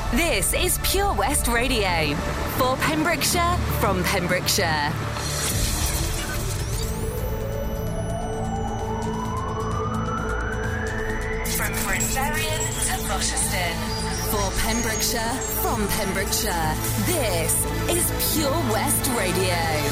This is Pure West Radio. For Pembrokeshire, from Pembrokeshire. From Brindarian to Rochester. For Pembrokeshire, from Pembrokeshire. This is Pure West Radio.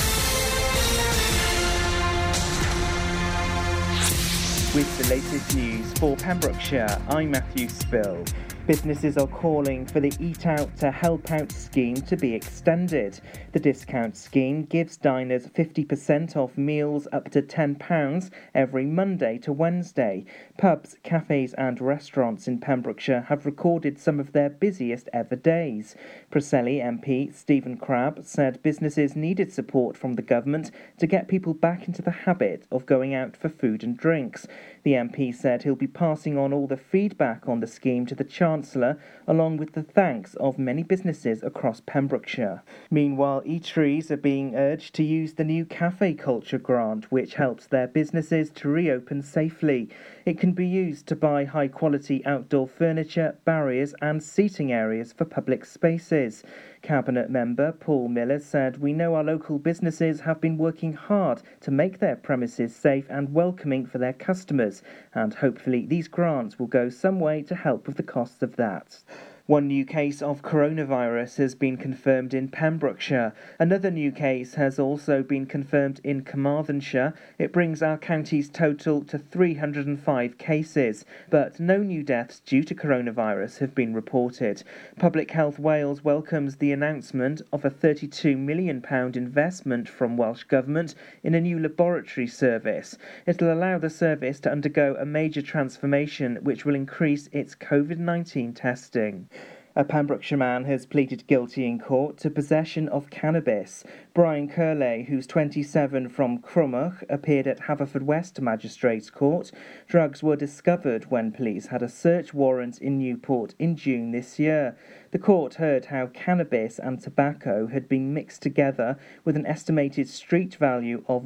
With the latest news for Pembrokeshire, I'm Matthew Spill. Businesses are calling for the Eat Out to Help Out scheme to be extended. The discount scheme gives diners 50% off meals up to £10 every Monday to Wednesday. Pubs, cafes and restaurants in Pembrokeshire have recorded some of their busiest ever days. Preseli MP Stephen Crabb said businesses needed support from the government to get people back into the habit of going out for food and drinks. The MP said he'll be passing on all the feedback on the scheme to the Chancellor, along with the thanks of many businesses across Pembrokeshire. Meanwhile, eateries are being urged to use the new Cafe Culture Grant, which helps their businesses to reopen safely. It can be used to buy high-quality outdoor furniture, barriers and seating areas for public spaces. Cabinet member Paul Miller said, "We know our local businesses have been working hard to make their premises safe and welcoming for their customers, and hopefully these grants will go some way to help with the costs of that." One new case of coronavirus has been confirmed in Pembrokeshire. Another new case has also been confirmed in Carmarthenshire. It brings our county's total to 305 cases, but no new deaths due to coronavirus have been reported. Public Health Wales welcomes the announcement of a £32 million investment from Welsh Government in a new laboratory service. It'll allow the service to undergo a major transformation which will increase its COVID-19 testing. A Pembrokeshire man has pleaded guilty in court to possession of cannabis. Brian Curley, who's 27 from Crummoch, appeared at Haverfordwest Magistrates Court. Drugs were discovered when police had a search warrant in Newport in June this year. The court heard how cannabis and tobacco had been mixed together with an estimated street value of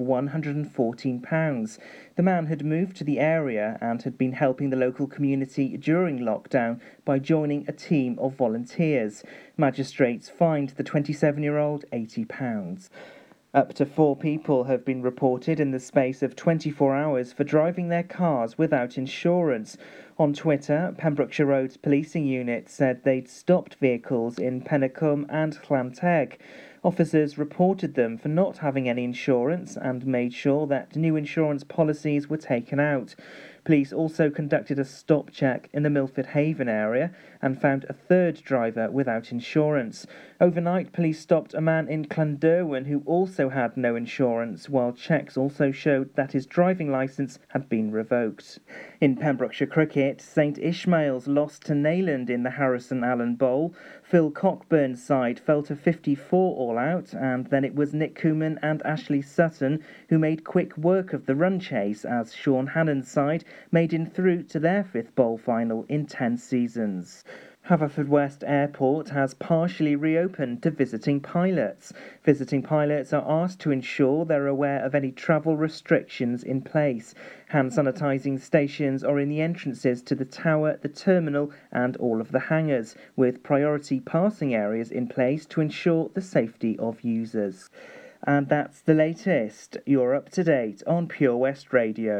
£114. The man had moved to the area and had been helping the local community during lockdown by joining a team of volunteers. Magistrates fined the 27-year-old £80. Up to 4 people have been reported in the space of 24 hours for driving their cars without insurance. On Twitter, Pembrokeshire Roads Policing Unit said they'd stopped vehicles in Penacum and Llanteg. Officers reported them for not having any insurance and made sure that new insurance policies were taken out. Police also conducted a stop check in the Milford Haven area and found a third driver without insurance. Overnight, police stopped a man in Llanderwen who also had no insurance, while checks also showed that his driving licence had been revoked. In Pembrokeshire cricket, St Ishmael's lost to Neyland in the Harrison Allen Bowl. Phil Cockburn's side fell to 54 all out, and then it was Nick Cooman and Ashley Sutton who made quick work of the run chase as Sean Hannon's side made in through to their 5th bowl final in 10 seasons. Haverfordwest Airport has partially reopened to visiting pilots. Visiting pilots are asked to ensure they're aware of any travel restrictions in place. Hand sanitising stations are in the entrances to the tower, the terminal and all of the hangars, with priority passing areas in place to ensure the safety of users. And that's the latest. You're up to date on Pure West Radio.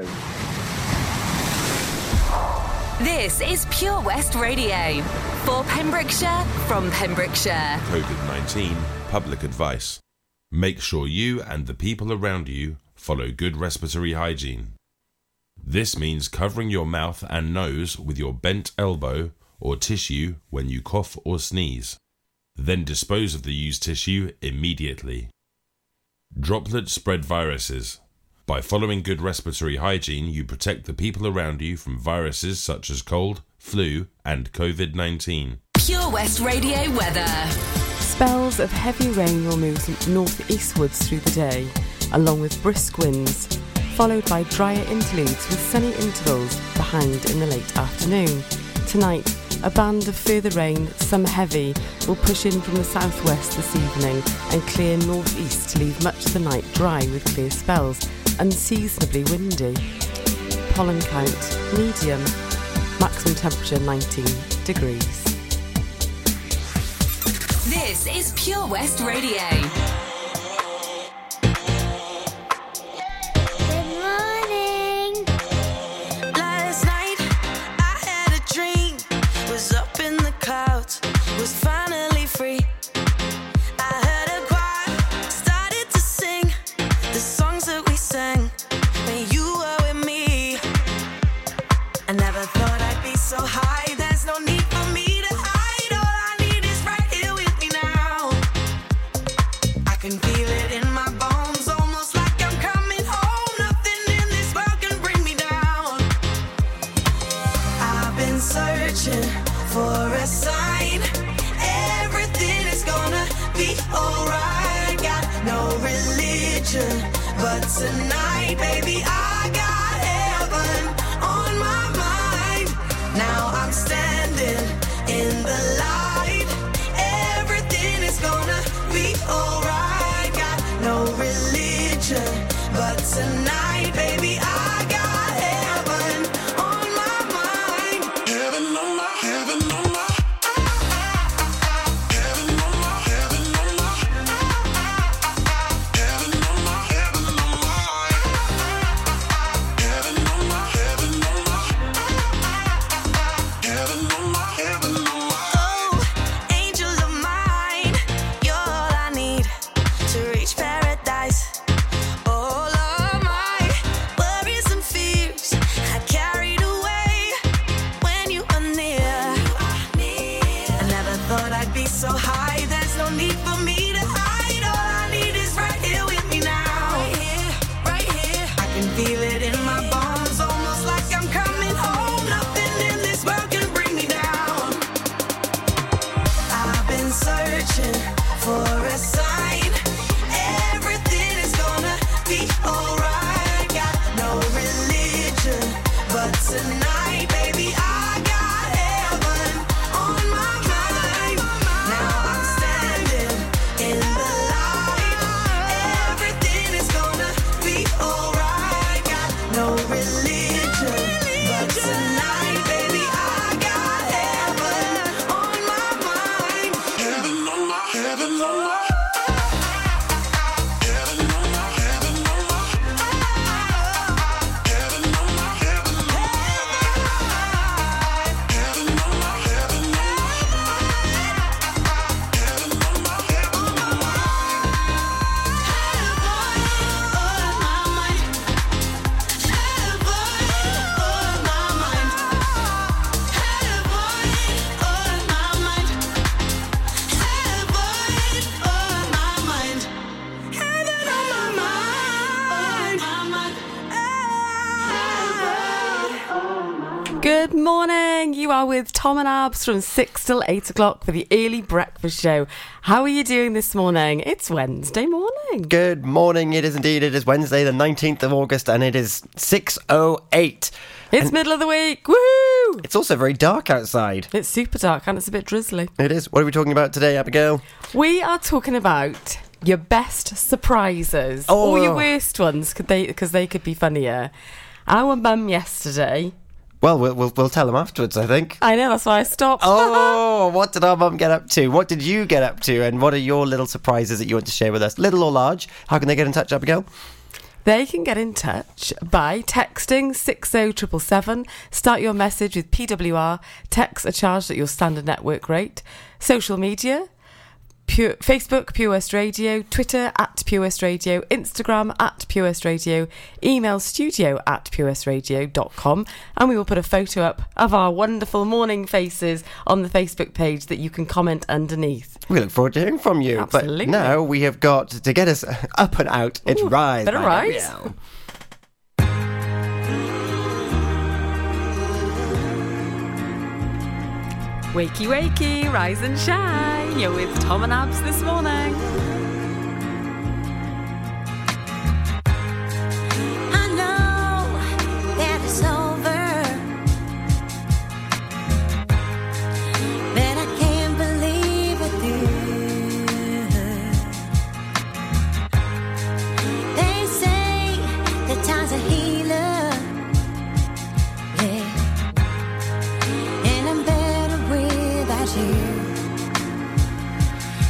This is Pure West Radio. For Pembrokeshire, from Pembrokeshire. COVID-19 public advice. Make sure you and the people around you follow good respiratory hygiene. This means covering your mouth and nose with your bent elbow or tissue when you cough or sneeze. Then dispose of the used tissue immediately. Droplets spread viruses. By following good respiratory hygiene, you protect the people around you from viruses such as cold, flu, and COVID-19. Pure West Radio weather. Spells of heavy rain will move north-eastwards through the day, along with brisk winds, followed by drier interludes with sunny intervals behind in the late afternoon. Tonight, a band of further rain, some heavy, will push in from the southwest this evening and clear northeast to leave much of the night dry with clear spells, unseasonably windy. Pollen count medium, maximum temperature 19 degrees. This is Pure West Radio. But tonight, baby, I got heaven on my mind. Now I'm standing in the light. Everything is gonna be alright. Got no religion, but tonight, baby, I got heaven on my mind. Heaven on my, heaven on my. Good morning. You are with Tom and Abs from 6 till 8 o'clock for the early breakfast show. How are you doing this morning? It's Wednesday morning. Good morning. It is indeed. It is Wednesday the 19th of August and it is 6:08. It's middle of the week. Woohoo! It's also very dark outside. It's super dark and it's a bit drizzly. It is. What are we talking about today, Abigail? We are talking about your best surprises or your worst ones because they could be funnier. Our mum yesterday... Well, we'll tell them afterwards, I think. I know, that's why I stopped. Oh, what did our mum get up to? What did you get up to? And what are your little surprises that you want to share with us? Little or large? How can they get in touch, Abigail? They can get in touch by texting 60777. Start your message with PWR. Texts are charged at your standard network rate. Social media... Facebook, Pure West Radio, Twitter at Pure West Radio, Instagram at Pure West Radio, email studio at purewestradio.com, and we will put a photo up of our wonderful morning faces on the Facebook page that you can comment underneath. We look forward to hearing from you. Absolutely. But now we have got to get us up and out. It's Rise. Better Rise. Wakey, wakey, rise and shine. You're with Tom and Abs this morning. I know that it's over, but I can't believe with you. They say that time's a healer, yeah, and I'm better without you.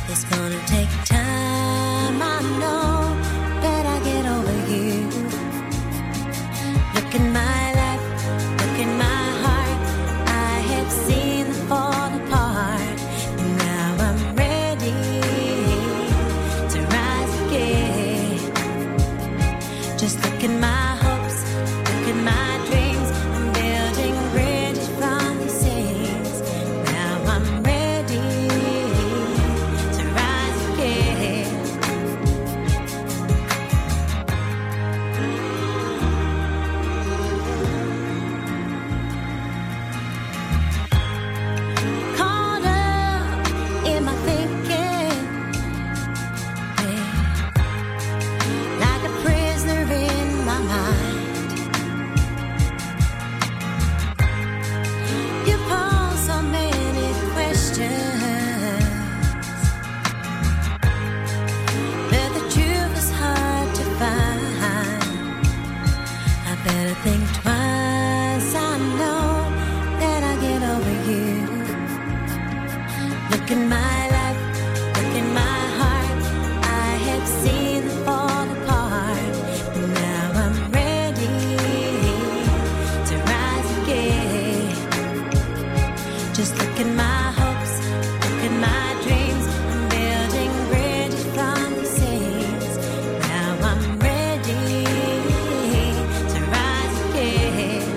Just look at my hopes, look at my dreams. I'm building bridges from the seas. Now I'm ready to rise again.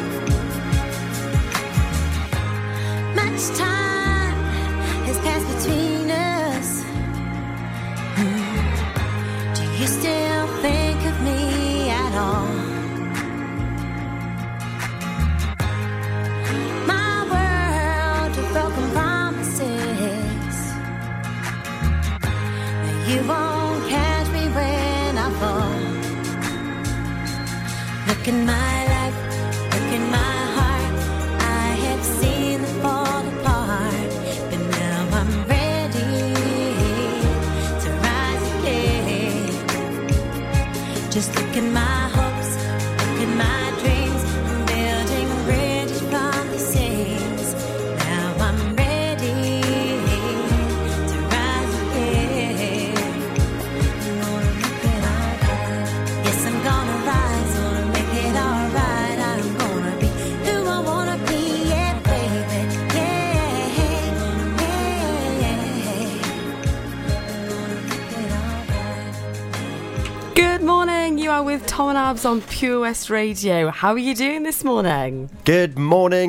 Much time has passed between us. Do you still think of me at all? You won't catch me when I fall. Look at my life, look at my heart. I have seen them fall apart, but now I'm ready to rise again. Just look at my hopes, look at my dreams. I'm building bridges from the seas. Now I'm ready to rise again. Yes, I'm gonna rise, gonna make it alright. I'm gonna be who I wanna be, yeah, baby, yeah, yeah. Good morning, you are with Tom and Abs on Pure West Radio. How are you doing this morning? Good morning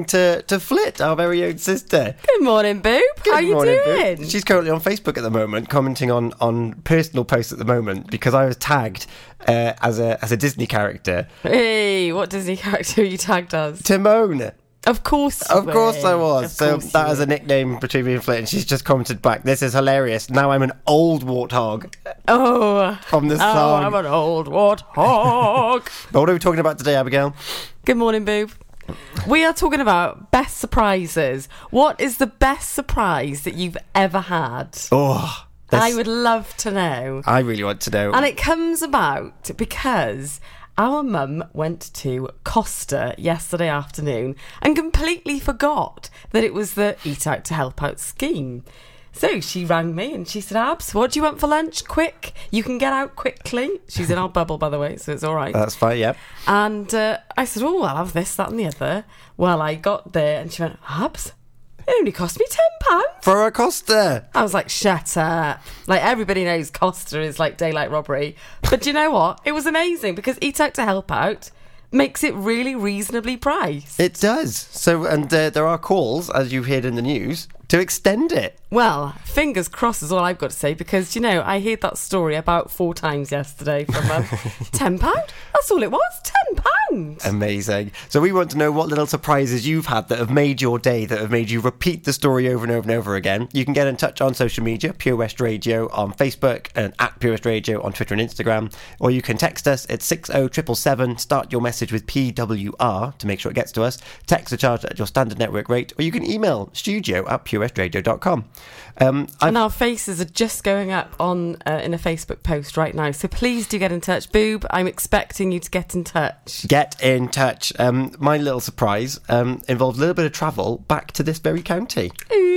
to Flit, our very own sister. Good morning, Boob. How you morning, doing? Boo. She's currently on Facebook at the moment, commenting on personal posts at the moment because I was tagged as a Disney character. Hey, what Disney character are you tagged as? Timon. Of course you Of course I was. Of So course that you is a nickname between me and Flit, and she's just commented back, "This is hilarious. Now I'm an old warthog." Oh, From the song. I'm an old warthog. But what are we talking about today, Abigail? Good morning, Boob. We are talking about best surprises. What is the best surprise that you've ever had? Oh, I would love to know. I really want to know. And it comes about because our mum went to Costa yesterday afternoon and completely forgot that it was the Eat Out to Help Out scheme. So she rang me and she said, "Abs, what do you want for lunch? Quick, you can get out quickly." She's in our bubble, by the way, so it's all right. That's fine, yep. And I said, "Oh, I'll have this, that and the other." Well, I got there and she went, "Abs, it only cost me £10. For a Costa. I was like, shut up. Like, everybody knows Costa is like daylight robbery. But do you know what? It was amazing because Eat Out to Help Out makes it really reasonably priced. It does. So, and there are calls, as you heard in the news, to extend it. Well, fingers crossed is all I've got to say because, you know, I heard that story about 4 times yesterday from £10. That's all it was, £10. Amazing. So we want to know what little surprises you've had that have made your day, that have made you repeat the story over and over and over again. You can get in touch on social media, Pure West Radio on Facebook and at Pure West Radio on Twitter and Instagram, or you can text us at 60777, start your message with PWR to make sure it gets to us, text the charge at your standard network rate, or you can email studio@purewestradio.com. And our faces are just going up on in a Facebook post right now, so please do get in touch. Boob, I'm expecting you to get in touch. Get in touch. My little surprise involves a little bit of travel back to this very county.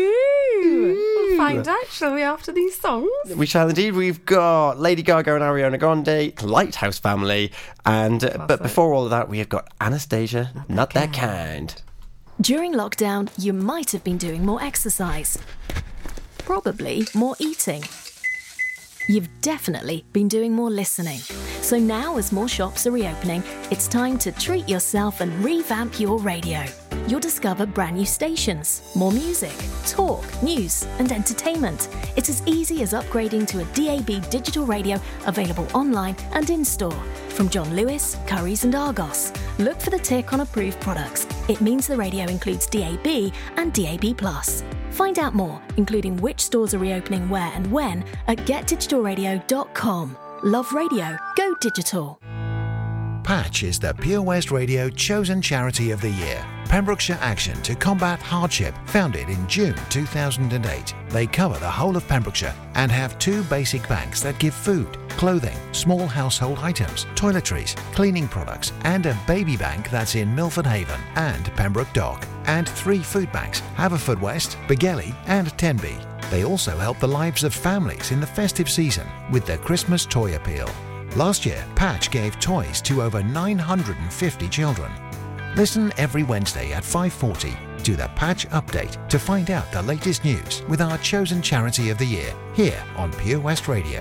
Ooh. We'll find out, shall we, after these songs? We shall indeed. We've got Lady Gaga and Ariana Grande, Lighthouse Family, and but before all of that, we have got Anastasia, Not That Kind. During lockdown, you might have been doing more exercise. Probably more eating. You've definitely been doing more listening. So now, as more shops are reopening, it's time to treat yourself and revamp your radio. You'll discover brand new stations, more music, talk, news and entertainment. It's as easy as upgrading to a DAB digital radio available online and in-store. From John Lewis, Currys and Argos. Look for the tick on approved products. It means the radio includes DAB and DAB+. Find out more, including which stores are reopening where and when, at getdigitalradio.com. Love radio. Go digital. Patch is the Pure West Radio chosen charity of the year. Pembrokeshire Action to Combat Hardship, founded in June 2008. They cover the whole of Pembrokeshire and have 2 basic banks that give food, clothing, small household items, toiletries, cleaning products, and a baby bank that's in Milford Haven and Pembroke Dock. And 3 food banks, Haverfordwest, Begelly and Tenby. They also help the lives of families in the festive season with their Christmas toy appeal. Last year, Patch gave toys to over 950 children. Listen every Wednesday at 5:40 to the Patch Update to find out the latest news with our chosen charity of the year here on Pure West Radio.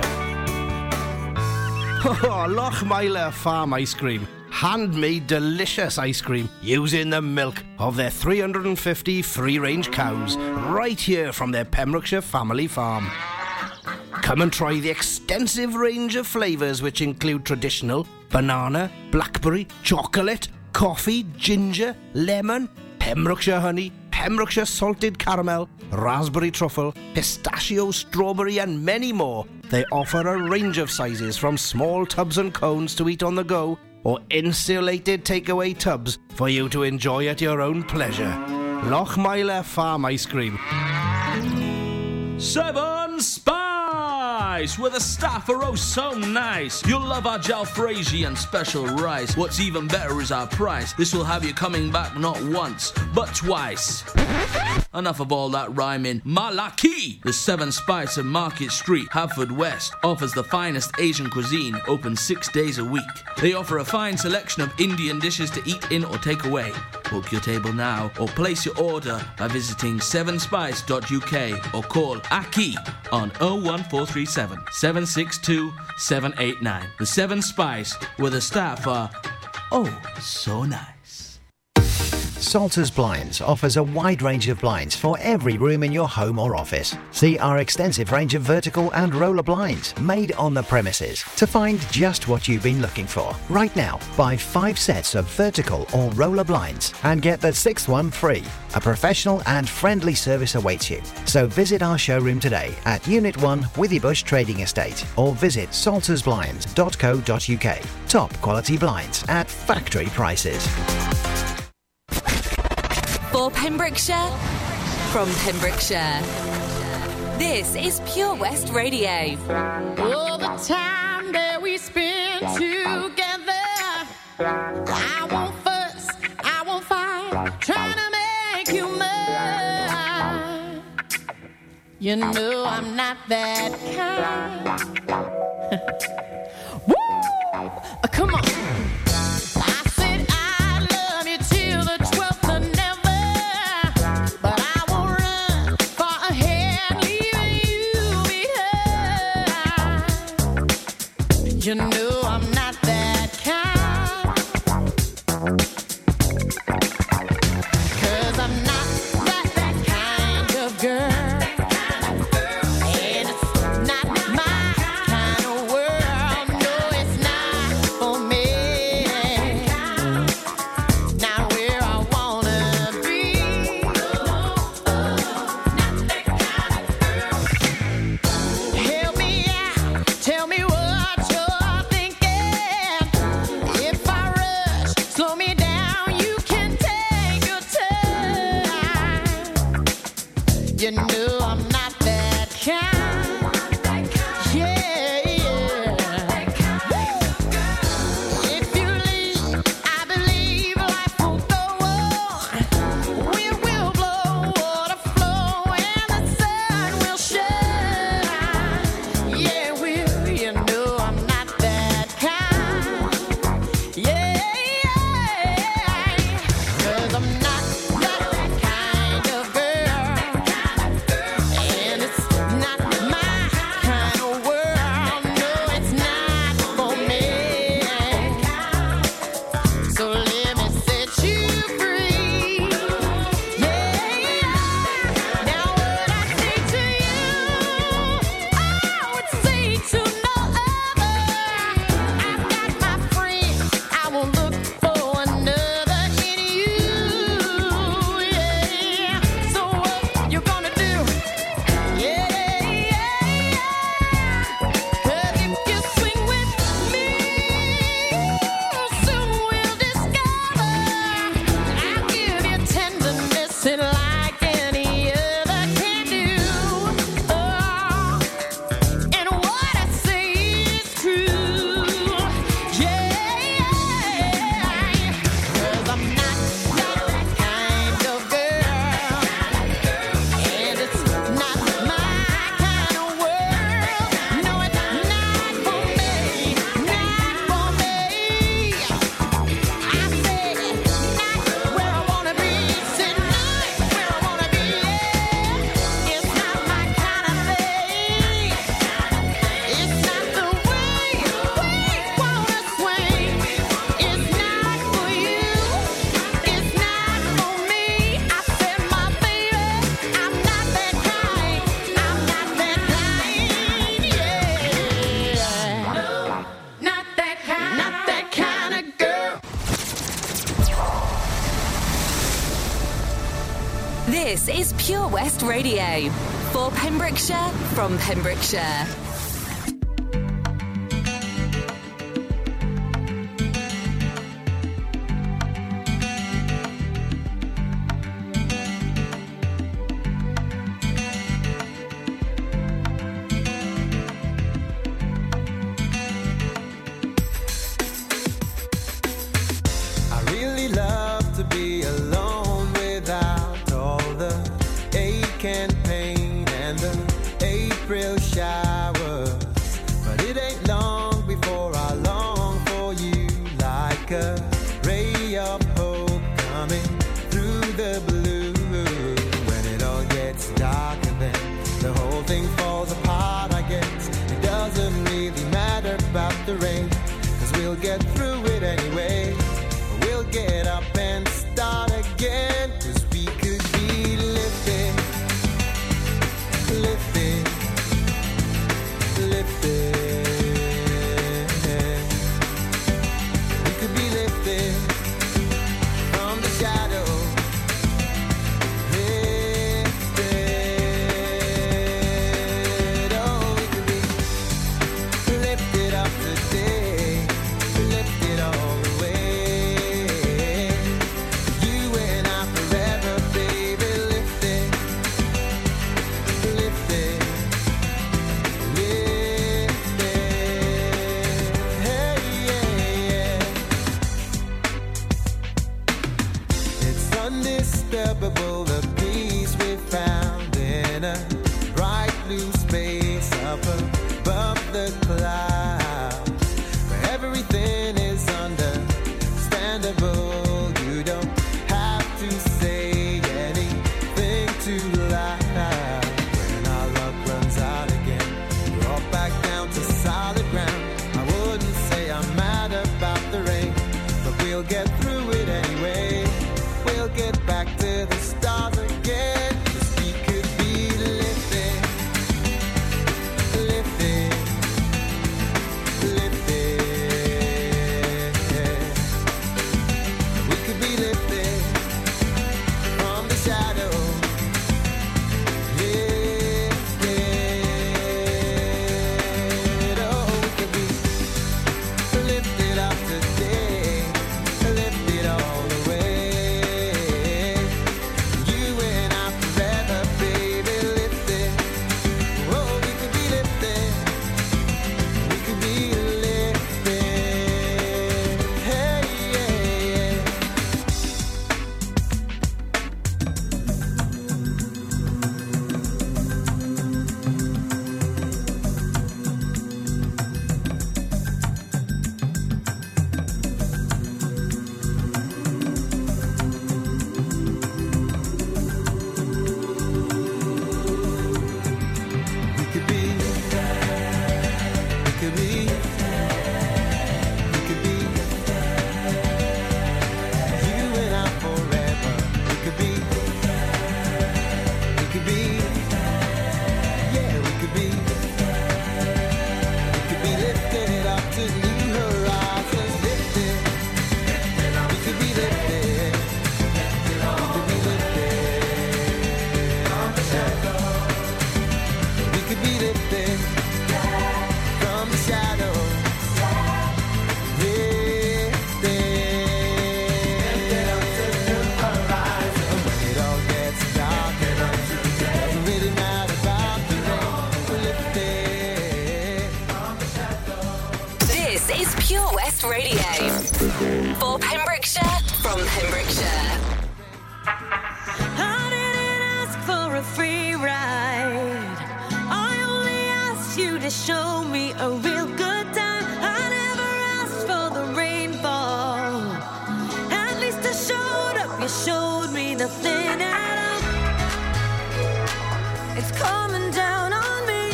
Oh, Lochmeyler Farm Ice Cream. Handmade delicious ice cream using the milk of their 350 free-range cows right here from their Pembrokeshire family farm. Come and try the extensive range of flavours which include traditional, banana, blackberry, chocolate, coffee, ginger, lemon, Pembrokeshire honey, Pembrokeshire salted caramel, raspberry truffle, pistachio, strawberry and many more. They offer a range of sizes from small tubs and cones to eat on the go or insulated takeaway tubs for you to enjoy at your own pleasure. Lochmeyler Farm Ice Cream. 7 Spice, where the staff are oh so nice. You'll love our jalfrezi and special rice. What's even better is our price. This will have you coming back not once, but twice. Enough of all that rhyming. Malaki! The 7 Spice of Market Street, Haverfordwest, offers the finest Asian cuisine, open 6 days a week. They offer a fine selection of Indian dishes to eat in or take away. Book your table now or place your order by visiting 7spice.uk or call Aki on 01437 762 789. The 7 Spice, where the staff are oh so nice. Salters Blinds offers a wide range of blinds for every room in your home or office. See our extensive range of vertical and roller blinds made on the premises to find just what you've been looking for. Right now, buy 5 sets of vertical or roller blinds and get the 6th one free. A professional and friendly service awaits you. So visit our showroom today at Unit 1 Withybush Trading Estate or visit saltersblinds.co.uk. Top quality blinds at factory prices. For Pembrokeshire, from Pembrokeshire. This is Pure West Radio. All the time that we spend together, I won't fuss, I won't fight, trying to make you mine. You know I'm not that kind. Woo! Come on. You know I'm not that kind, 'cause I'm not that kind of girl, and it's not my kind of world, no it's not for me, not where I wanna be, help me out, tell me what you know I'm not that kind. Yeah, yeah. If you leave, I believe life will go on. Wind will blow, water flow, and the sun will shine. Yeah, will you know I'm not that kind. Yeah, yeah. 'Cause I'm not that kind of girl. And it's not This is Pure West Radio. For Pembrokeshire, from Pembrokeshire. For Pembrokeshire, from Pembrokeshire. I didn't ask for a free ride. I only asked you to show me a real good time. I never asked for the rainfall. At least I showed up. You showed me nothing at all. It's coming down on me.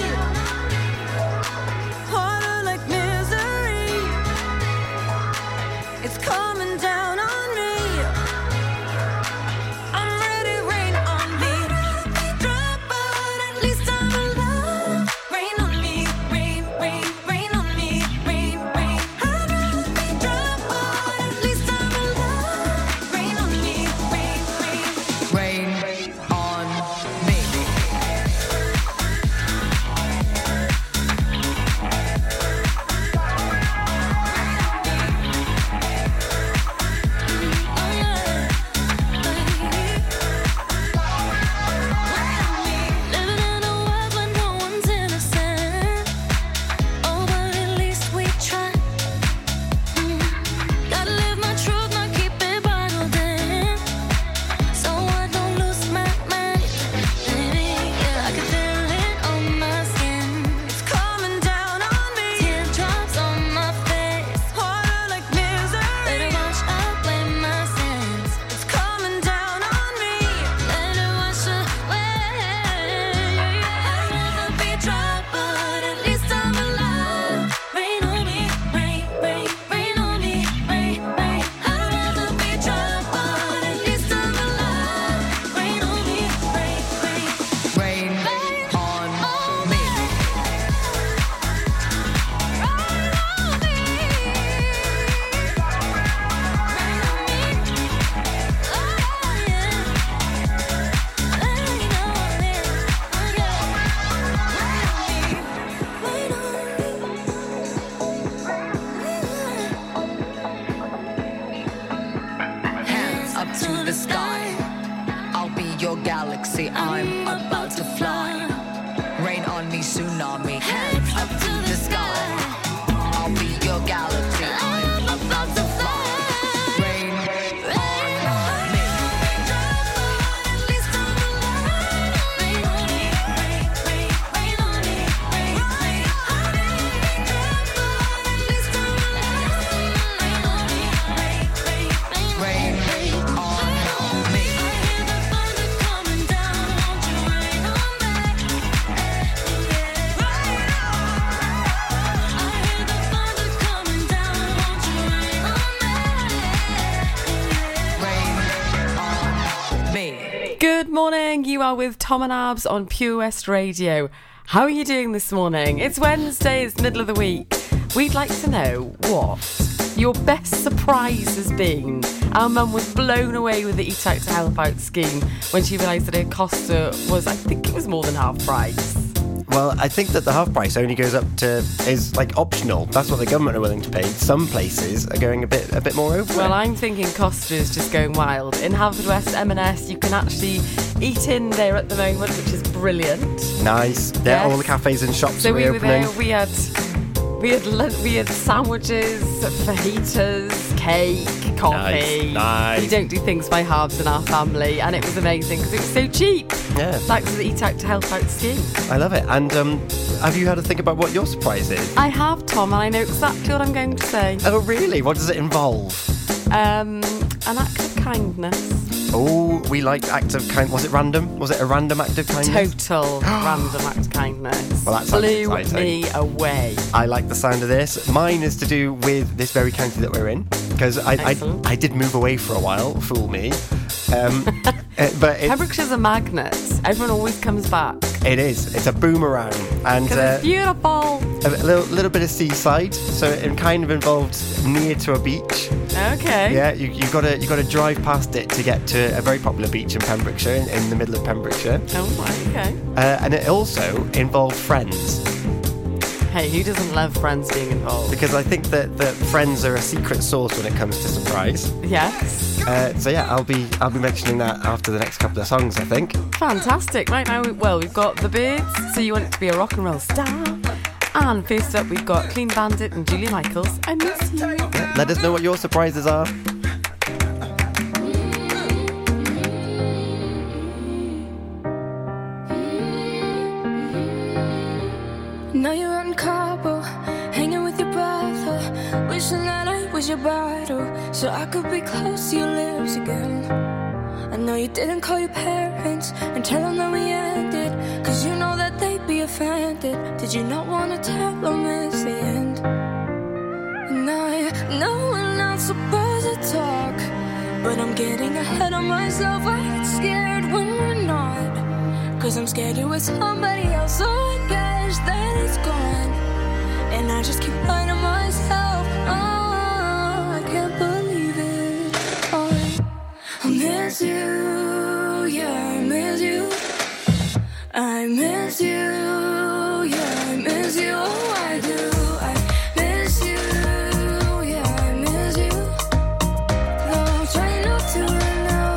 Harder like misery. It's coming down on me. I'm ready, rain on me. Drop, but at least I'm alive. Rain on me, rain, rain, rain. your galaxy. I'm about to fly. Rain on me, tsunami, hands up to the sky. I'll be your galaxy. I'm about to fly. Rain on me. Good morning, you are with Tom and Abs on Pure West Radio. How are you doing this morning? It's Wednesday, it's middle of the week. We'd like to know what your best surprise has been. Our mum was blown away with the Eat Out to Help Out scheme when she realised that her Costa was, I think it was more than half price. Well, I think that the half price only goes up to, is like optional. That's what the government are willing to pay. Some places are going a bit more over Well, it. I'm thinking Costa is just going wild. In Haverfordwest M&S, you can actually eat in there at the moment, which is brilliant. Nice. There, Yes. all the cafes and shops So are we were reopening. there, we had sandwiches, fajitas, cake, coffee. Nice. We don't do things by halves in our family, and it was amazing because it was so cheap. Yeah. Thanks to the Eat Out to Help Out scheme. I love it. And have you had to think about what your surprise is? I have, Tom, and I know exactly what I'm going to say. Oh, really? What does it involve? An act of kindness. Oh, we like acts of kindness. Was it random? Was it a random act of kindness? Total random act of kindness. Well, that sounds blew exciting. me away. I like the sound of this. Mine is to do with this very county that we're in, because I did move away for a while. Fool me. But Pembrokeshire's a magnet. Everyone always comes back. it is. It's a boomerang, and Because it's beautiful. a little bit of seaside. So it kind of involved near to a beach. Okay. Yeah, you got to drive past it to get to a very popular beach in Pembrokeshire, in the middle of Pembrokeshire. Oh, right, okay. And it also involved friends, Hey, who doesn't love friends being involved? because I think that friends are a secret sauce when it comes to surprise. Yes. So yeah, I'll be mentioning that after the next couple of songs, I think. Fantastic. Right now, we've got The Birds, So You Want to Be a Rock and Roll Star. And first up, we've got Clean Bandit and Julia Michaels. I miss you. Yeah, let us know what your surprises are. Now you're out in Cabo, hanging with your brother, wishing that I was your bridal, so I could be close to your lips again. I know you didn't call your parents and tell them that we ended, cause you know that they'd be offended. Did you not want to tell them it's the end? And I know we're not supposed to talk, but I'm getting ahead of myself. I get scared when we're not, cause I'm scared you're with somebody else, so I guess that it's gone. And I just keep lying to myself. Oh, I can't believe it. Oh, I miss you, yeah, I miss you. I miss you, yeah, I miss you. Oh, I do. I miss you, yeah, I miss you. Though I'm trying not to right now.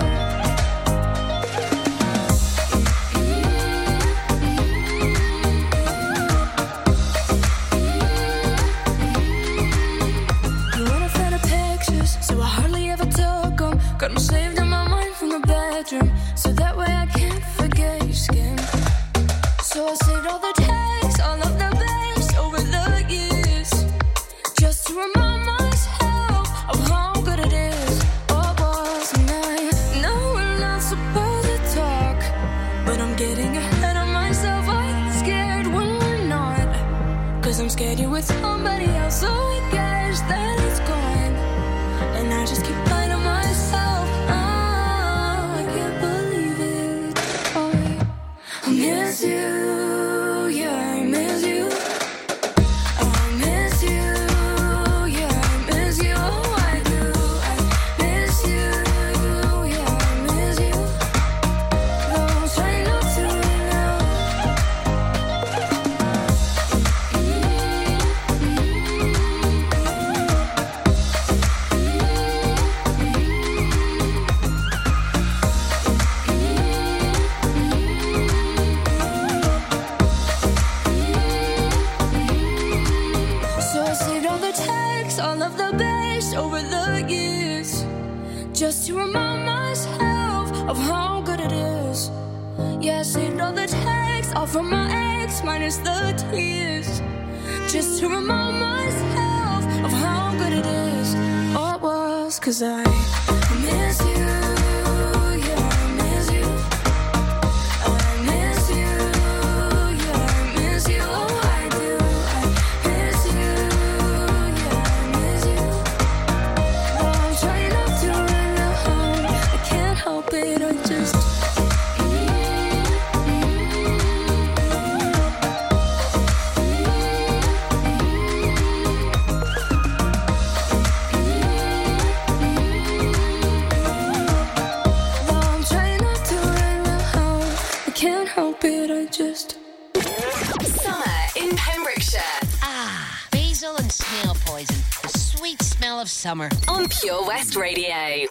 You wanna find the pictures, so I hardly ever took them. Got them saved in my mind from the bedroom, so that way I can't forget your skin. So I saved all the texts, all of the best over the years, just to remind myself of how good it is. Oh, boss, and I know we're not supposed to talk, but I'm getting ahead of myself. I get scared when we're not, cause I'm scared you're with somebody else, so I guess that it's gone. And I just keep lying to myself. Oh, I can't believe it. Oh, I miss you, yeah, I miss you. I miss you, yeah, I miss you. Oh, I do. I miss you, yeah, I miss you. Though I'm trying not to right now. Yeah, I saved all the texts, all from my ex, minus the tears. Just to remind myself of how good it is. All it was, 'cause I miss you. Yeah, I miss you. I miss you. Yeah, I miss you. Oh, I do. I miss you. Yeah, I miss you. Oh, I'm trying not to run home. I can't help it. I just. Summer in Pembrokeshire. Basil and snail poison. The sweet smell of summer. On Pure West Radio.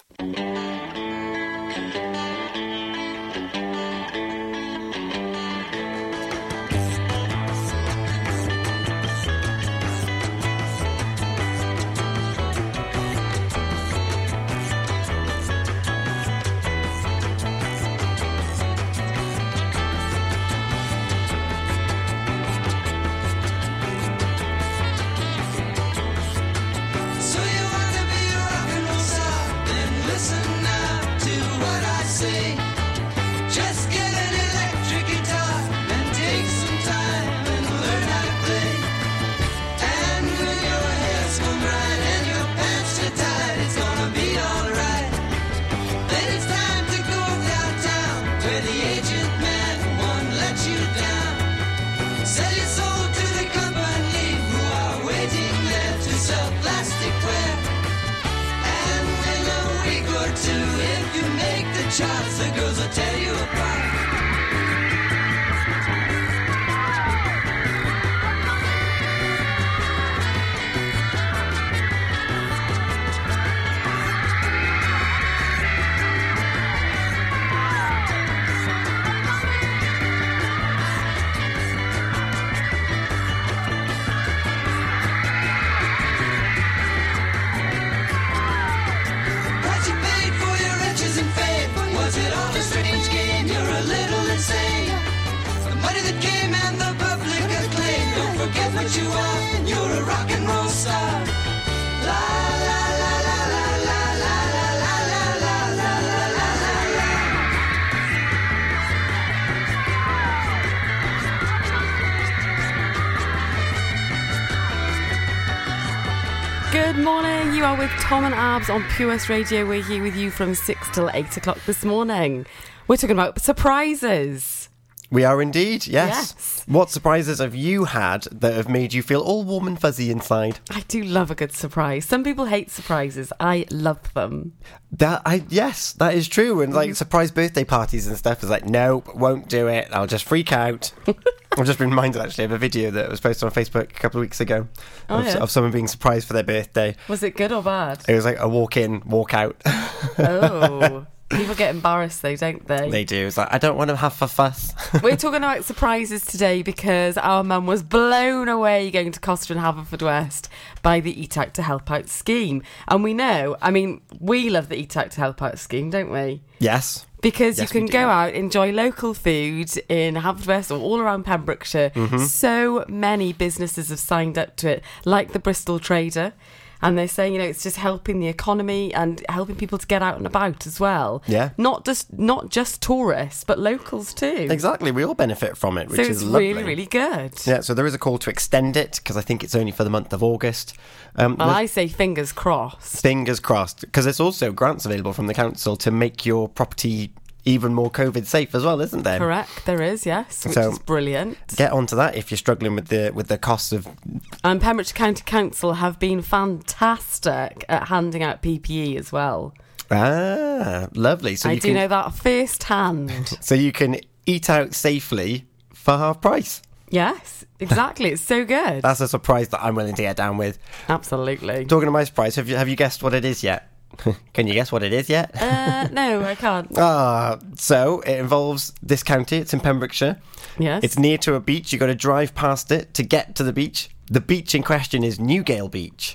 So you want to be a rock and roll star? Then listen now to what I say. Just get an electric guitar and take some time and learn how to play. And when your hair's comb right and your pants are tight, it's gonna be alright. Then it's time to go downtown where the agent man won't let you down. Sell your soul to the company who are waiting there to sell plasticware. And in a week or two, if you make the charts, the girls will tear you apart. What you paid for your riches and fame? Was it all a strange game? You're a little insane. The money that came and the public acclaim. Don't forget what you are. You're a rock and roll star. La la la la la la la la la la la la la la la. Good morning, you are with Tom and Abs on Pure West Radio. We're here with you from 6 till 8 o'clock this morning. We're talking about surprises. We are indeed, yes. Yes. What surprises have you had that have made you feel all warm and fuzzy inside? I do love a good surprise. Some people hate surprises. I love them. Yes, that is true. And like surprise birthday parties and stuff is like, nope, won't do it. I'll just freak out. I've just been reminded actually of a video that was posted on Facebook a couple of weeks ago of someone being surprised for their birthday. Was it good or bad? It was like a walk in, walk out. Oh. People get embarrassed though, don't they? They do. It's like, I don't want to have a fuss. We're talking about surprises today because our mum was blown away going to Costa and Haverfordwest by the Eat Out to Help Out scheme. And we know, I mean, we love the Eat Out to Help Out scheme, don't we? Yes. Because Yes, you can we do. go out, enjoy local food in Haverfordwest or all around Pembrokeshire. So many businesses have signed up to it, like the Bristol Trader. And they're saying, you know, it's just helping the economy and helping people to get out and about as well. Yeah. Not just tourists, but locals too. Exactly. We all benefit from it, which So is it's lovely. really, really good. Yeah, so there is a call to extend it because I think it's only for the month of August. Well, I say fingers crossed. Fingers crossed, because there's also grants available from the council to make your property even more COVID safe as well, isn't there? Correct, there is, yes, which So- is brilliant. Get onto that if you're struggling with the costs of. And Pembrokeshire County Council have been fantastic at handing out PPE as well. Lovely. So I you do can, know that first hand. So you can eat out safely for half price. Yes, exactly. It's so good. That's a surprise that I'm willing to get down with. Absolutely. Talking of my surprise, have you guessed what it is yet? Can you guess what it is yet? No, I can't. So it involves this county. It's in Pembrokeshire. Yes. It's near to a beach. You've got to drive past it to get to the beach. The beach in question is Newgale Beach.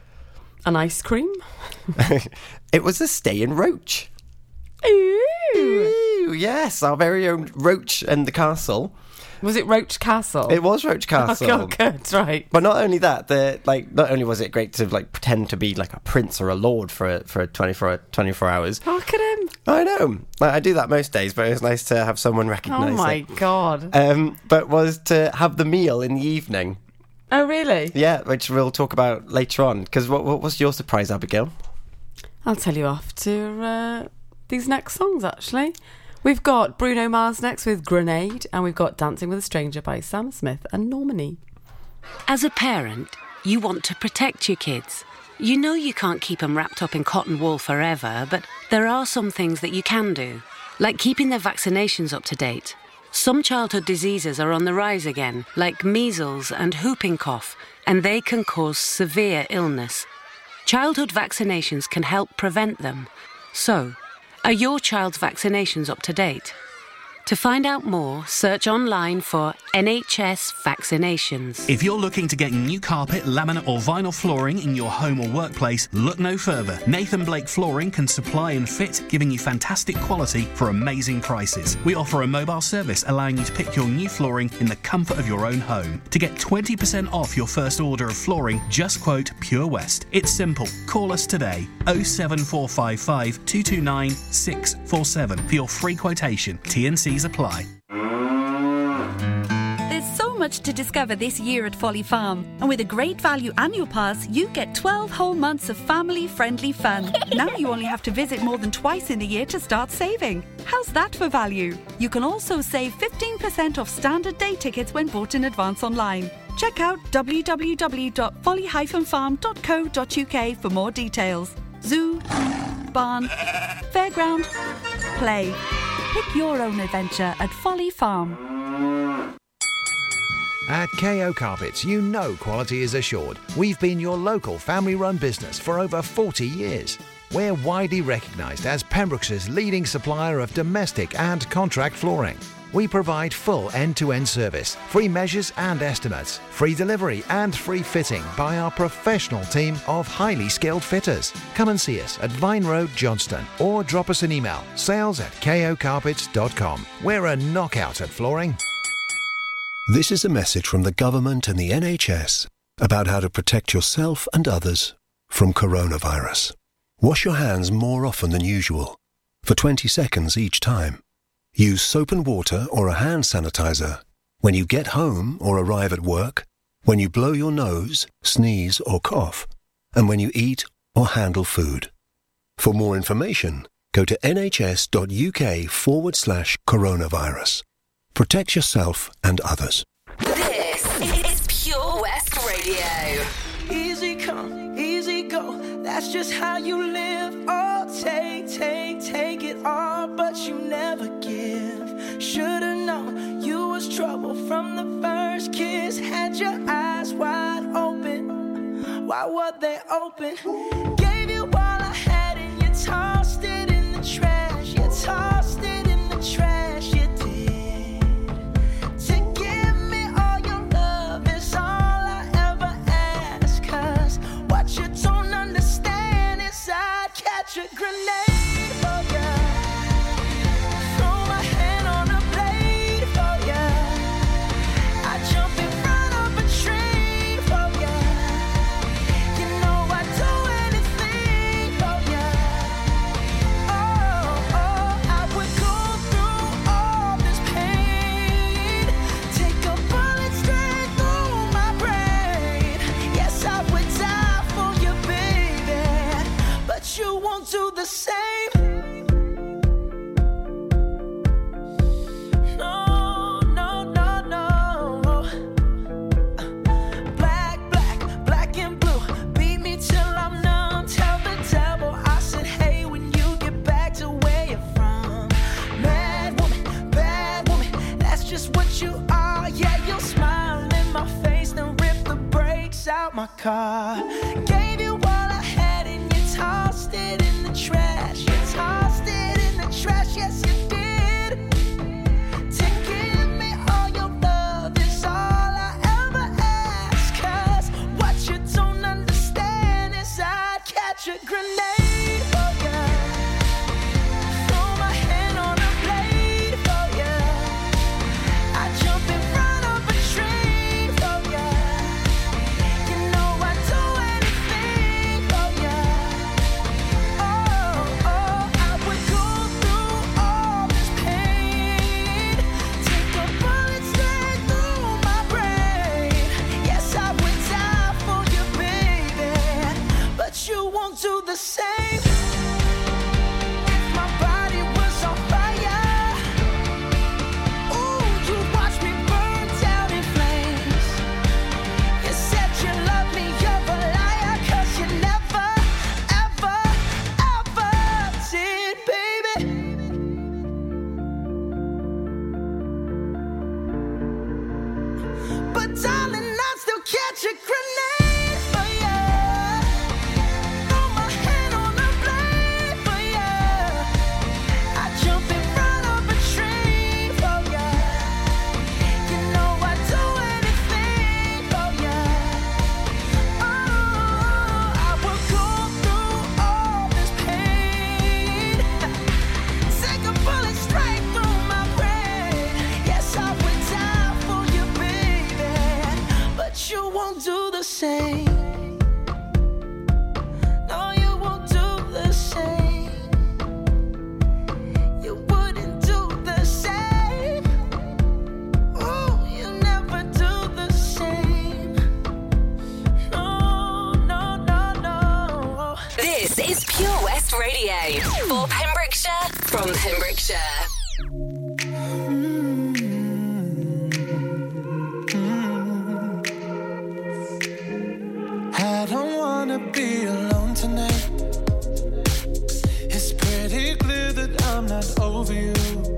An ice cream? It was a stay in Roach. Ooh. yes, our very own Roach and the Castle. Was it Roach Castle? It was Roach Castle. Oh, good, right. But not only that, not only was it great to pretend to be like a prince or a lord for 24 hours. Look at him. I know. I do that most days, but it was nice to have someone recognise it. Oh my God. But was to have the meal in the evening. Oh, really? Yeah, which we'll talk about later on. Because what was your surprise, Abigail? I'll tell you after these next songs, actually. We've got Bruno Mars next with Grenade, and we've got Dancing with a Stranger by Sam Smith and Normani. As a parent, you want to protect your kids. You know you can't keep them wrapped up in cotton wool forever, but there are some things that you can do, like keeping their vaccinations up to date. Some childhood diseases are on the rise again, like measles and whooping cough, and they can cause severe illness. Childhood vaccinations can help prevent them. So, are your child's vaccinations up to date? To find out more, search online for NHS vaccinations. If you're looking to get new carpet, laminate or vinyl flooring in your home or workplace, look no further. Nathan Blake Flooring can supply and fit, giving you fantastic quality for amazing prices. We offer a mobile service allowing you to pick your new flooring in the comfort of your own home. To get 20% off your first order of flooring, just quote Pure West. It's simple. Call us today, 07455 229 647 for your free quotation. T&Cs apply. There's so much to discover this year at Folly Farm. And with a great value annual pass, you get 12 whole months of family-friendly fun. Now you only have to visit more than twice in a year to start saving. How's that for value? You can also save 15% off standard day tickets when bought in advance online. Check out www.folly-farm.co.uk for more details. Zoo, barn, fairground, play. Pick your own adventure at Folly Farm. At KO Carpets, you know quality is assured. We've been your local family-run business for over 40 years. We're widely recognised as Pembrokeshire's leading supplier of domestic and contract flooring. We provide full end-to-end service, free measures and estimates, free delivery and free fitting by our professional team of highly skilled fitters. Come and see us at Vine Road, Johnston, or drop us an email, sales@kocarpets.com. We're a knockout at flooring. This is a message from the government and the NHS about how to protect yourself and others from coronavirus. Wash your hands more often than usual, for 20 seconds each time. Use soap and water or a hand sanitizer when you get home or arrive at work, when you blow your nose, sneeze or cough, and when you eat or handle food. For more information, go to nhs.uk/coronavirus. Protect yourself and others. This is Pure West Radio. Easy come, easy go. That's just how you live. Oh, take it all, but you never give. Should've known you was trouble from the first kiss. Had your eyes wide open. Why were they open? Gave you all I had and you tossed it in the trash. You tossed it in the trash. You did. To give me all your love is all I ever ask. 'Cause what you don't understand is I'd catch a grenade. Do the same. No, no, no, no. Black and blue. Beat me till I'm numb. Tell the devil I said, hey, when you get back to where you're from. Mad woman, that's just what you are. Yeah, you'll smile in my face, then rip the brakes out my car. Gave you all I had and you tossed it in the trash. You tossed it in the trash, yes you did. To give me all your love is all I ever ask. 'Cause what you don't understand is I'd catch a grenade. Oh yeah. Throw my hand on a blade. launch a grenade for you. Throw my hand on the blade for you. I jump in front of a tree for you. You know I'd do anything for you. Oh, I will go through all this pain. Take a bullet straight through my brain. Yes, I would die for you, baby, but you won't do the same. No, you won't do the same. You wouldn't do the same. Oh, you never do the same. No, no, no, no. This is Pure West Radio for Pembrokeshire from Pembrokeshire. I don't wanna be alone tonight. It's pretty clear that I'm not over you.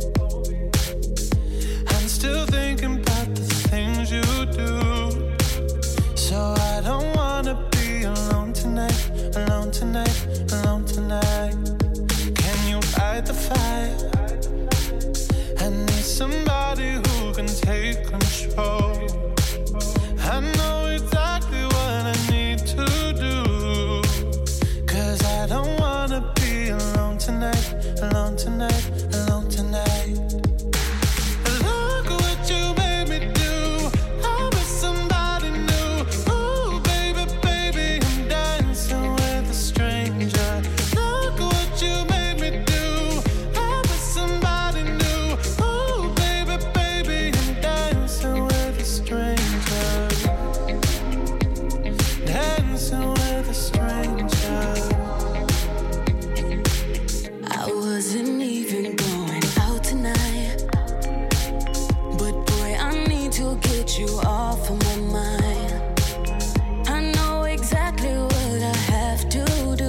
I'm still thinking about the things you do. So I don't wanna be alone tonight, alone tonight, alone tonight. Can you fight the fire? I need somebody who can take control. I know exactly what I need to do. 'Cause I don't wanna be alone tonight, alone tonight, alone tonight. Look what you made me do. I'm with somebody new. Ooh, baby, baby, I'm dancing with a stranger. Look what you made me do. I'm with somebody new. Ooh, baby, baby, I'm dancing with a stranger. Dancing with a stranger. I wasn't even going out tonight, but boy, I need to get you off of my mind. I know exactly what I have to do.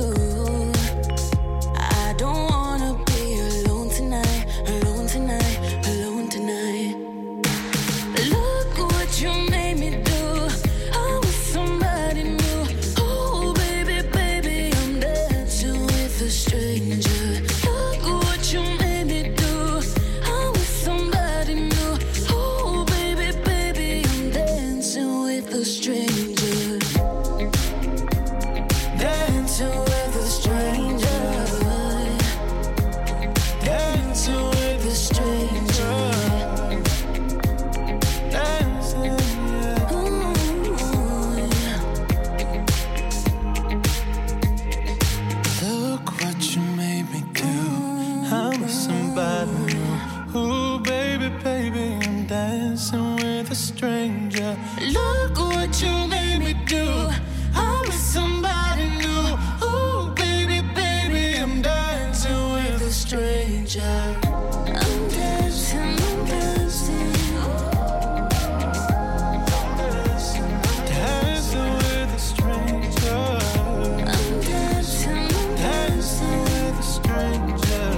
I don't wanna be alone tonight, alone tonight, alone tonight. Look what you made me do. I'm with somebody new. Oh, baby, baby, I'm dancing with a stranger. Look what you made me do. I'm with somebody new. Oh, baby, baby, I'm dancing with a stranger. Dancing with a stranger. Dancing with a stranger. Dancing, yeah. Look what you made me do. I'm with somebody new. Ooh, baby, baby, I'm dancing with a stranger. Look what you made me do. I'm with somebody new. Ooh, baby, baby, I'm dancing with a stranger. I'm dancing, I'm dancing. Dancing with a stranger. I'm dancing, I'm Dancing with a stranger.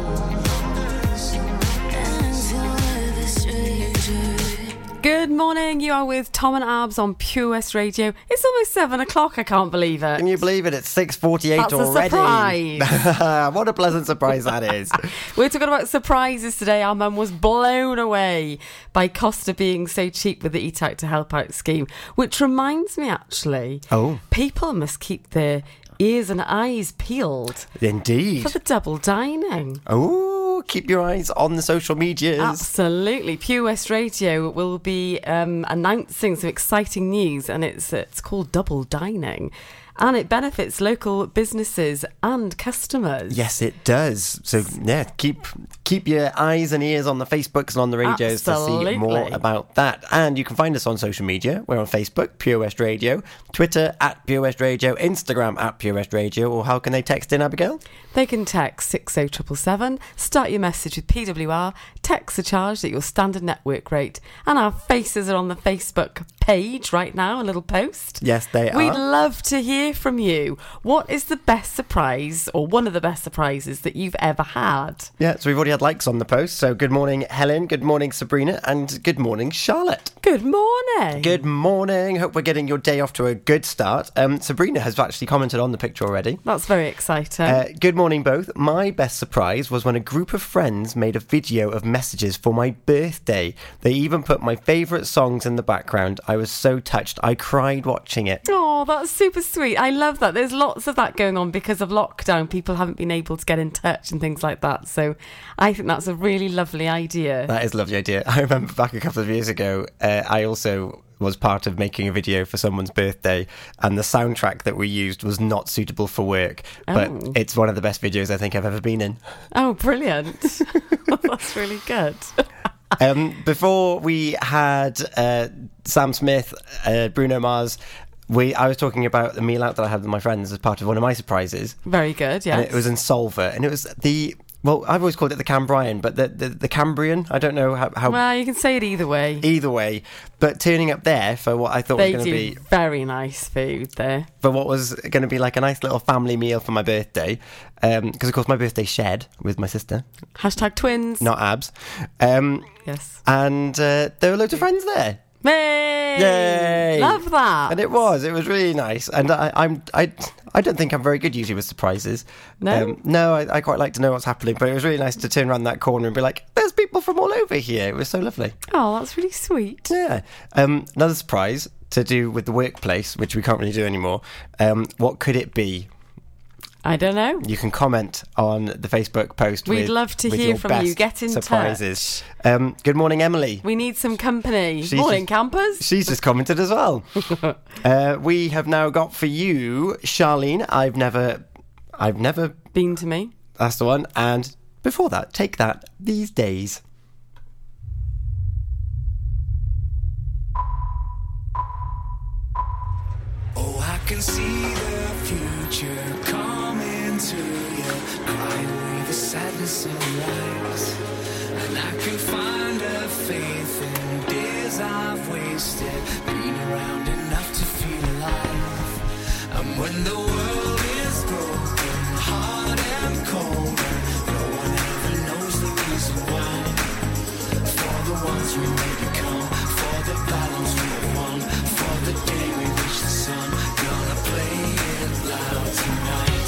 dancing with a stranger. Good morning, you are with Tom and Abs on Pure West Radio. It's almost 7 o'clock, I can't believe it. Can you believe it? It's 6:48 That's a already. surprise. What a pleasant surprise that is. We're talking about surprises today. Our mum was blown away by Costa being so cheap with the Eat Out to Help Out scheme, which reminds me actually, people must keep their ears and eyes peeled Indeed. for the double dining. Oh, keep your eyes on the social medias. Absolutely. Pure West Radio will be announcing some exciting news, and it's called Double Dining. And it benefits local businesses and customers. Yes, it does. So, yeah, keep your eyes and ears on the Facebooks and on the radios to see more about that. And you can find us on social media. We're on Facebook, Pure West Radio, Twitter, @Pure West Radio, Instagram, @Pure West Radio. Or how can they text in, Abigail? They can text 60777, start your message with PWR, text the charge at your standard network rate, and our faces are on the Facebook page right now, a little post. Yes, they are. We'd love to hear from you. What is the best surprise, or one of the best surprises that you've ever had? Yeah, so we've already had likes on the post. So good morning, Helen. Good morning, Sabrina. And good morning, Charlotte. Good morning. Good morning. Hope we're getting your day off to a good start. Sabrina has actually commented on the picture already. That's very exciting. Good morning, both. My best surprise was when a group of friends made a video of messages for my birthday. They even put my favourite songs in the background. I was so touched. I cried watching it. Oh, that's super sweet. I love that. There's lots of that going on because of lockdown. People haven't been able to get in touch and things like that. So I think that's a really lovely idea. That is a lovely idea. I remember back a couple of years ago, I also was part of making a video for someone's birthday, and the soundtrack that we used was not suitable for work, but it's one of the best videos I think I've ever been in. Oh, brilliant. That's really good. Before we had Sam Smith, Bruno Mars, I was talking about the meal out that I had with my friends as part of one of my surprises. Very good, yes. And it was in Solva, and it was well, I've always called it the Cambrian, but the Cambrian, I don't know how... Well, you can say it either way. Either way. But turning up there for what I thought was going to be... They do very nice food there. For what was going to be like a nice little family meal for my birthday. Because, of course, my birthday's shared with my sister. Hashtag twins. Not abs. Yes. And there were loads of friends there. Hey! Yay! Love that. And it was really nice. And I don't think I'm very good usually with surprises. No? No, I quite like to know what's happening, but it was really nice to turn around that corner and be like, there's people from all over here. It was so lovely. Oh, that's really sweet. Yeah. Another surprise to do with the workplace, which we can't really do anymore. What could it be? I don't know. You can comment on the Facebook post. We'd love to hear from you. Get in surprises. Good morning, Emily. We need some company. Morning, campers. She's just commented as well. We have now got for you, Charlene. I've never been to me. That's the one. And before that, Take That, These Days. Oh, I can see the future coming to you, cry away the sadness in your eyes, and I can find a faith in days I've wasted, been around enough to feel alive. And when the world is broken, hard and cold, no one ever knows the reason why. For the ones we may become, for the battles we have won, for the day we reach the sun, gonna play it loud tonight.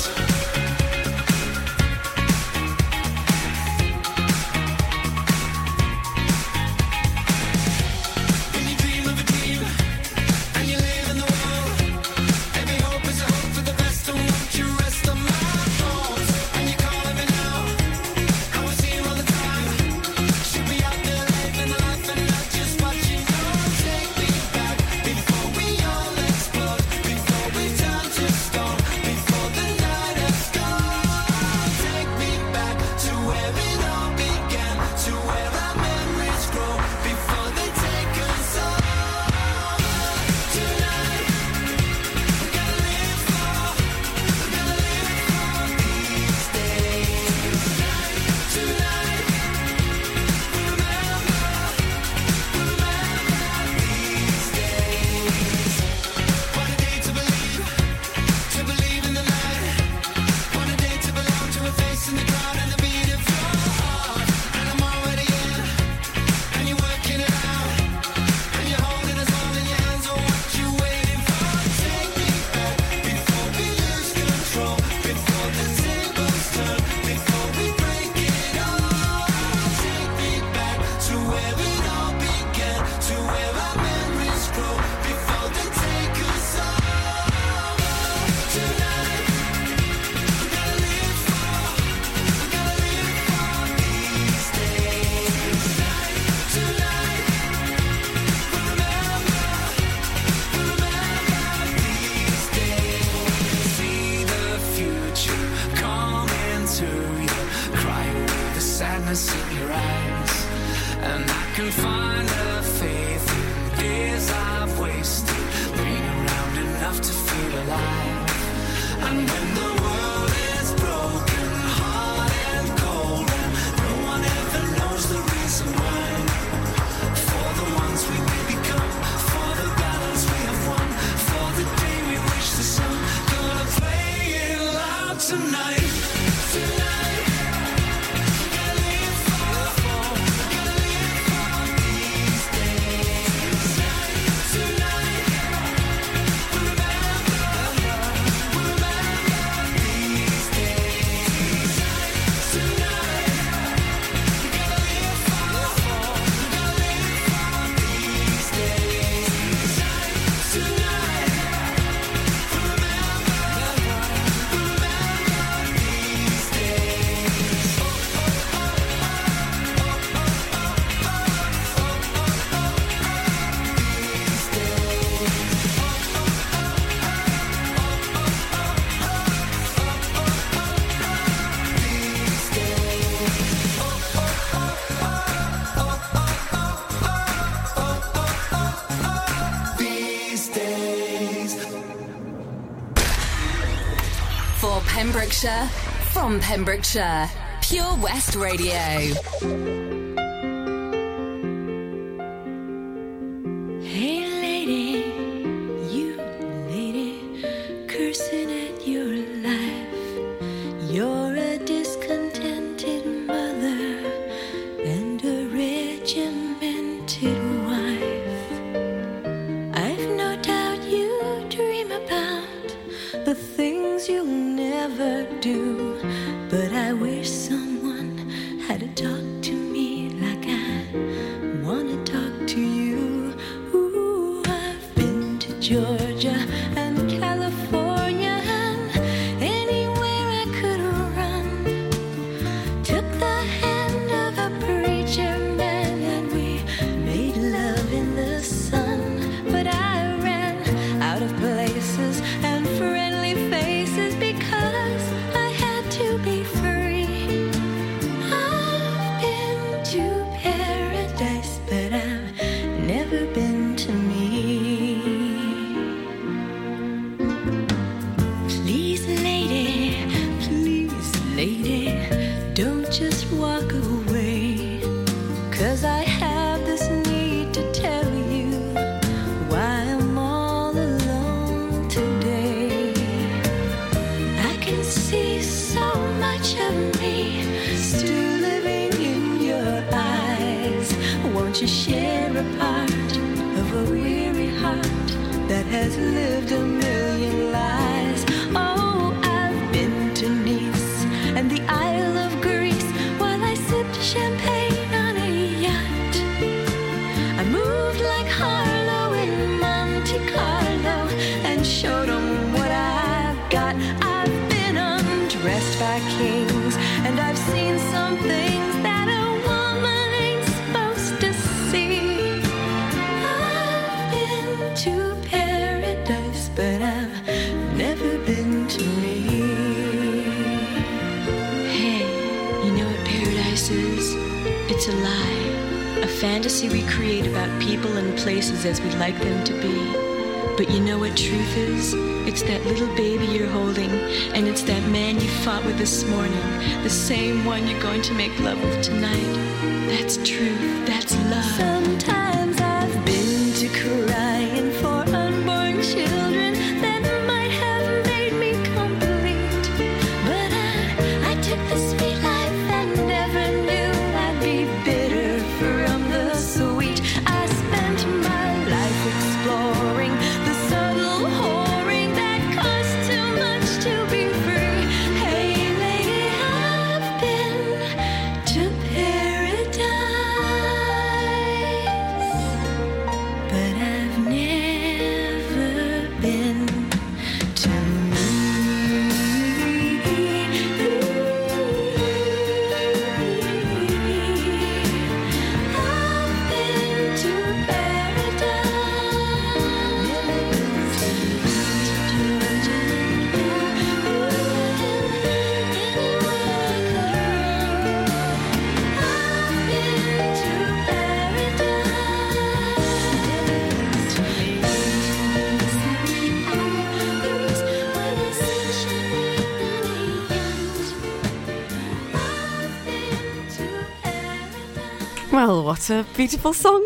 When you dream of a dream and you live in the world, every hope is a hope for the best, and won't you rest on my bones? And you're calling me now, I was here all the time. Should be out there living life and not just watching. Take me back before we all explode, before we turn to stone, before the night has gone. Take me back to where it all began, to where our memories grow, before they take us all. Tonight, we gotta live for these days. Tonight, we remember these days. What a day to believe in the light. What a day to belong to a face in the crowd and the beat of your heart. And I'm already in, and you're working it out, and you're holding us all in your hands. Oh, what you waiting for? Take me back before we lose control, before the tables turn, before we break it all. Take me back to where it all began, to where our memories grow, before they take us all. Tonight, we gotta live for these days. Tonight, we remember these days. See the future coming to you, cry away the sadness in your eyes, and I can find a faith in days I've wasted, been around enough to feel alive. And when the world is broken, hard and cold, and no one ever knows the reason why. For the ones we may become, for the Pembrokeshire, from Pembrokeshire, Pure West Radio. Hey lady, you lady, cursing at your life. You're a discontented mother and a regimented wife. I've no doubt you dream about the things you'll never do, but I wish someone had to talk to me like I wanna talk to you. Ooh, I've been to Georgia and California and anywhere I could run. Took the hand of a preacher man and we made love in the sun. But I ran out of places and friendly faces because I had to be free. I've been to paradise, but I've never been to me. Please, lady, don't just walk away. 'Cause I have this need to tell you why I'm all alone today. I can see so much of me still living in your eyes. Won't you share a part of a weary heart that has lived a million lies? Oh, I've been to Nice and the Isle of Greece while I sipped champagne on a yacht. I moved like Harlow in Monte Carlo and showed them what I've got. I've been undressed by kings and I've seen some things that a woman ain't supposed to see. I've been to paradise, but I've never been to me. Hey, you know what paradise is? It's a lie, a fantasy we create about people and places as we'd like them to be. But you know what truth is? It's that little baby you're holding, and it's that man you fought with this morning, the same one you're going to make love with tonight. That's truth, that's love. Sometimes I've been to crying for unborn children that might have made me complete. But I took the sweet life and never knew I'd be bitter from the sweet. I spent my life exploring the subtle whoring that costs too much to be free. Hey lady, I've been to paradise, but I've never been to Well, what a beautiful song